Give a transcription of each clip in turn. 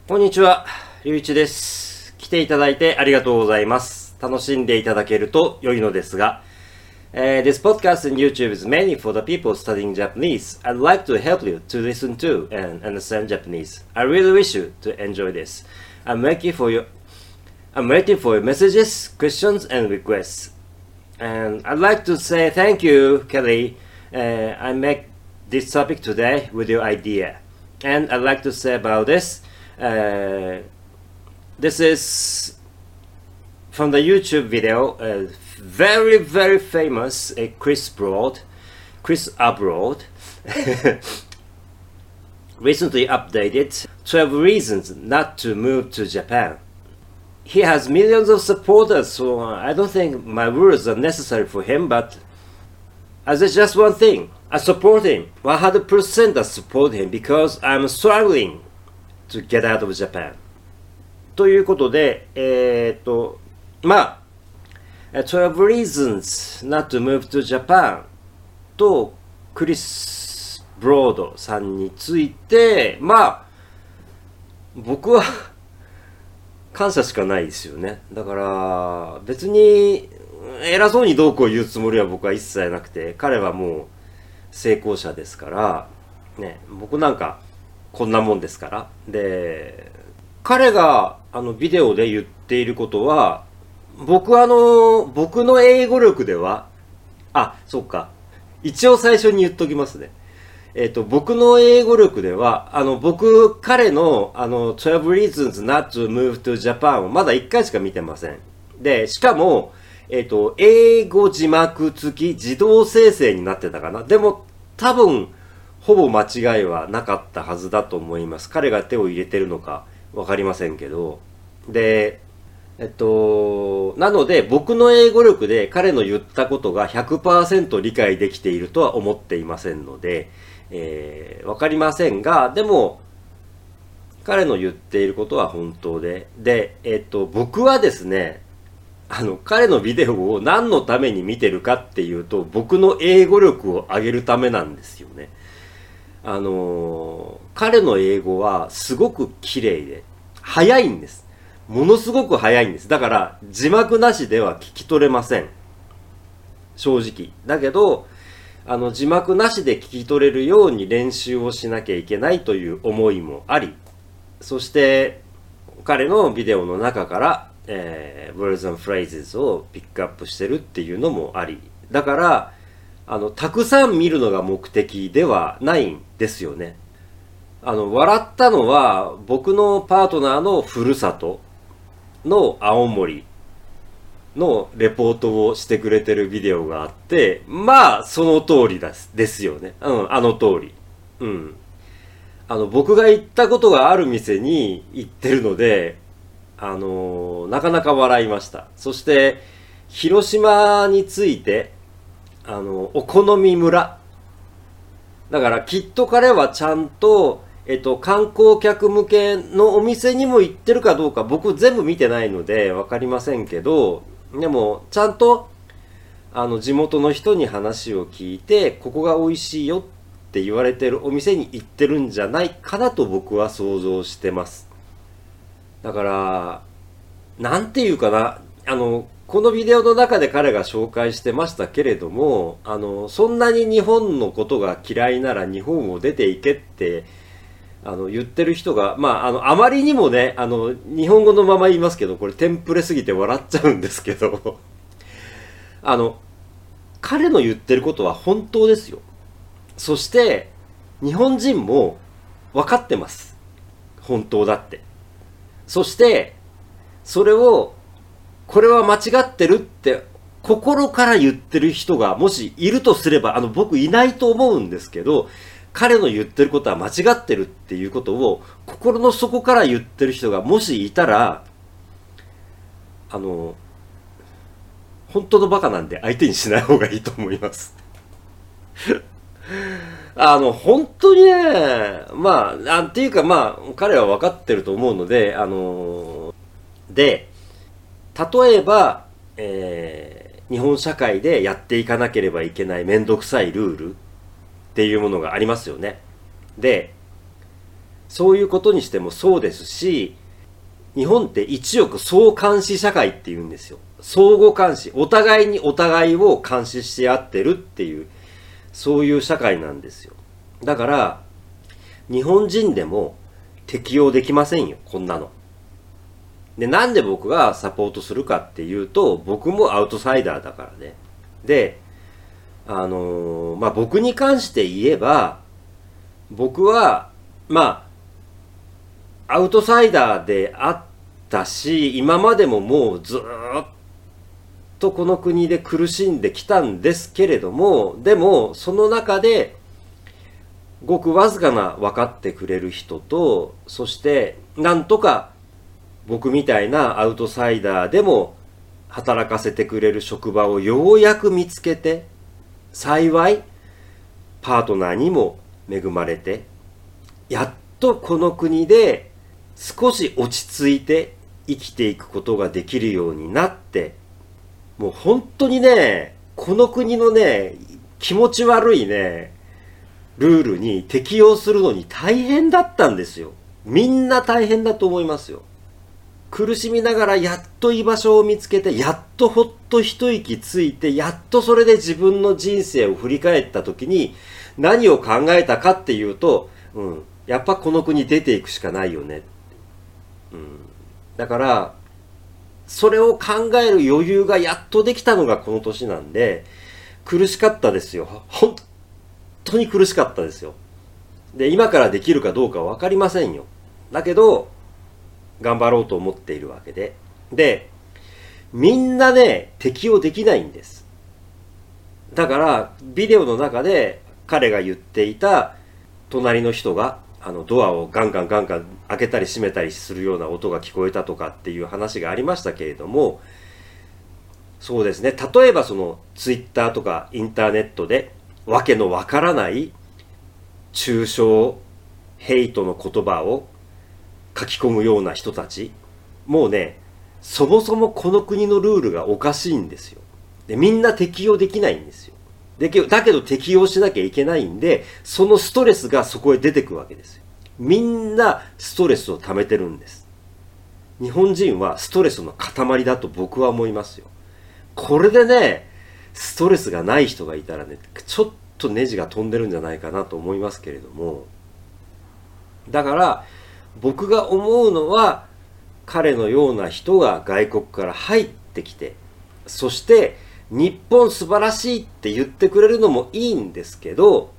こんにちは、りゅういちです。来ていただいてありがとうございます。楽しんでいただけると良いのですが、This podcast and YouTube is mainly for the people studying Japanese. I'd like to help you to listen to and understand Japanese. I really wish you to enjoy this. I'm waiting for your messages, questions, and requests. And I'd like to say thank you, Kelly. I make this topic today with your idea. And I'd like to say about this. This is from the YouTube video, very, very famous Chris Abroad, recently updated 12 reasons not to move to Japan. He has millions of supporters, so I don't think my words are necessary for him, but as just one thing, I support him, 100% I support him because I'm struggling to get out of Japan. ということで、12 reasons not to move to Japan とクリス・ブロードさんについて、僕は感謝しかないですよね。だから別に偉そうにどうこう言うつもりは僕は一切なくて、彼はもう成功者ですからね、僕なんかこんなもんですから。で、彼がビデオで言っていることは、僕の英語力では、そうか。一応最初に言っときますね。僕の英語力では、彼の12 reasons not to move to Japan をまだ1回しか見てません。で、しかも、英語字幕付き自動生成になってたかな。でも、多分、ほぼ間違いはなかったはずだと思います。彼が手を入れてるのかわかりませんけど。で、なので僕の英語力で彼の言ったことが 100% 理解できているとは思っていませんので、わかりませんが、でも、彼の言っていることは本当で、僕はですね、彼のビデオを何のために見てるかっていうと、僕の英語力を上げるためなんですよね。彼の英語はすごく綺麗で、早いんです。ものすごく早いんです。だから、字幕なしでは聞き取れません。正直。だけど、字幕なしで聞き取れるように練習をしなきゃいけないという思いもあり、そして、彼のビデオの中から、words and phrases をピックアップしてるっていうのもあり。だから、たくさん見るのが目的ではないんですよね。笑ったのは、僕のパートナーのふるさとの青森のレポートをしてくれてるビデオがあって、その通りですよね。あの通り。僕が行ったことがある店に行ってるので、なかなか笑いました。そして、広島について、お好み村。だからきっと彼はちゃんと、観光客向けのお店にも行ってるかどうか僕全部見てないのでわかりませんけど、でもちゃんと、地元の人に話を聞いて、ここが美味しいよって言われてるお店に行ってるんじゃないかなと僕は想像してます。だから、なんていうかな、このビデオの中で彼が紹介してましたけれども、そんなに日本のことが嫌いなら日本を出ていけって、言ってる人が、あまりにもね、日本語のまま言いますけど、これテンプレすぎて笑っちゃうんですけど、彼の言ってることは本当ですよ。そして、日本人も分かってます。本当だって。そして、それを、これは間違ってるって心から言ってる人がもしいるとすれば、僕いないと思うんですけど、彼の言ってることは間違ってるっていうことを心の底から言ってる人がもしいたら、本当のバカなんで相手にしない方がいいと思います。本当にね、っていうか彼は分かってると思うので、で、例えば、日本社会でやっていかなければいけないめんどくさいルールっていうものがありますよね。で、 そういうことにしてもそうですし、日本って一億相監視社会って言うんですよ。相互監視。お互いにお互いを監視し合ってるっていう、そういう社会なんですよ。だから、日本人でも適用できませんよ、こんなの。で、なんで僕がサポートするかっていうと、僕もアウトサイダーだからね。で、僕に関して言えば、僕は、アウトサイダーであったし、今までももうずーっとこの国で苦しんできたんですけれども、でも、その中で、ごくわずかな分かってくれる人と、そして、なんとか僕みたいなアウトサイダーでも働かせてくれる職場をようやく見つけて、幸いパートナーにも恵まれて、やっとこの国で少し落ち着いて生きていくことができるようになって、もう本当にね、この国のね、気持ち悪いね、ルールに適用するのに大変だったんですよ。みんな大変だと思いますよ。苦しみながらやっと居場所を見つけて、やっとほっと一息ついて、やっとそれで自分の人生を振り返った時に何を考えたかっていうと、やっぱこの国出ていくしかないよね。だから、それを考える余裕がやっとできたのがこの年なんで、苦しかったですよ。本当に苦しかったですよ。で、今からできるかどうかわかりませんよ。だけど、頑張ろうと思っているわけで。で、みんなね、適応できないんです。だから、ビデオの中で彼が言っていた、隣の人が、ドアをガンガン開けたり閉めたりするような音が聞こえたとかっていう話がありましたけれども、そうですね。例えばそのツイッターとかインターネットでわけのわからない中傷、ヘイトの言葉を書き込むような人たち、もうね、そもそもこの国のルールがおかしいんですよ。で、みんな適用できないんですよ。だけど適用しなきゃいけないんで、そのストレスがそこへ出てくわけですよ。みんなストレスを溜めてるんです。日本人はストレスの塊だと僕は思いますよ。これでね、ストレスがない人がいたらね、ちょっとネジが飛んでるんじゃないかなと思いますけれども。だから、僕が思うのは、彼のような人が外国から入ってきて、そして日本素晴らしいって言ってくれるのもいいんですけど、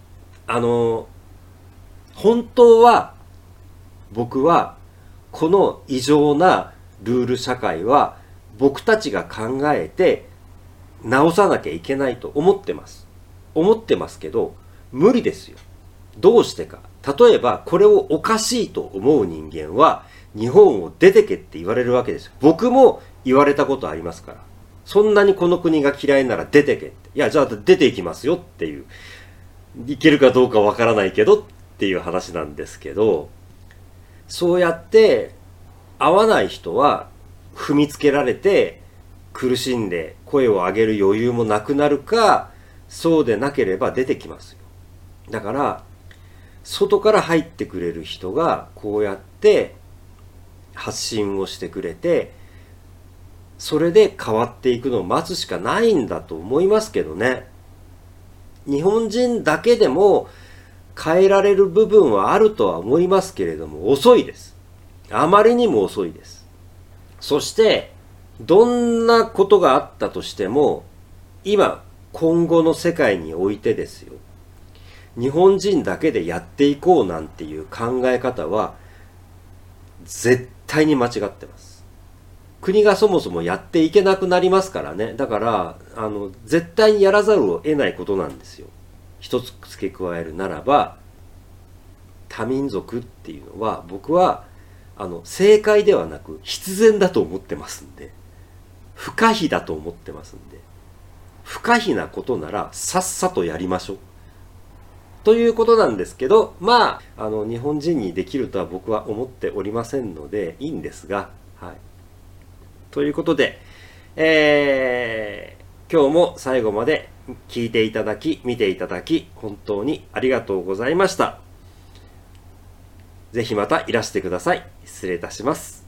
本当は僕はこの異常なルール社会は僕たちが考えて直さなきゃいけないと思ってます。思ってますけど、無理ですよ。どうしてか。例えばこれをおかしいと思う人間は日本を出てけって言われるわけですよ。僕も言われたことありますから。そんなにこの国が嫌いなら出てけって。いや、じゃあ出ていきますよっていう。いけるかどうかわからないけどっていう話なんですけど、そうやって合わない人は踏みつけられて苦しんで声を上げる余裕もなくなるか、そうでなければ出てきますよ。だから、外から入ってくれる人がこうやって発信をしてくれて、それで変わっていくのを待つしかないんだと思いますけどね。日本人だけでも変えられる部分はあるとは思いますけれども、遅いです。あまりにも遅いです。そして、どんなことがあったとしても、今後の世界においてですよ。日本人だけでやっていこうなんていう考え方は、絶対に間違ってます。国がそもそもやっていけなくなりますからね。だから、絶対にやらざるを得ないことなんですよ。一つ付け加えるならば、多民族っていうのは、僕は、正解ではなく必然だと思ってますんで、不可避だと思ってますんで、不可避なことならさっさとやりましょう。ということなんですけど、日本人にできるとは僕は思っておりませんので、いいんですが、はい。ということで、今日も最後まで聞いていただき、見ていただき、本当にありがとうございました。 ぜひまたいらしてください。失礼いたします。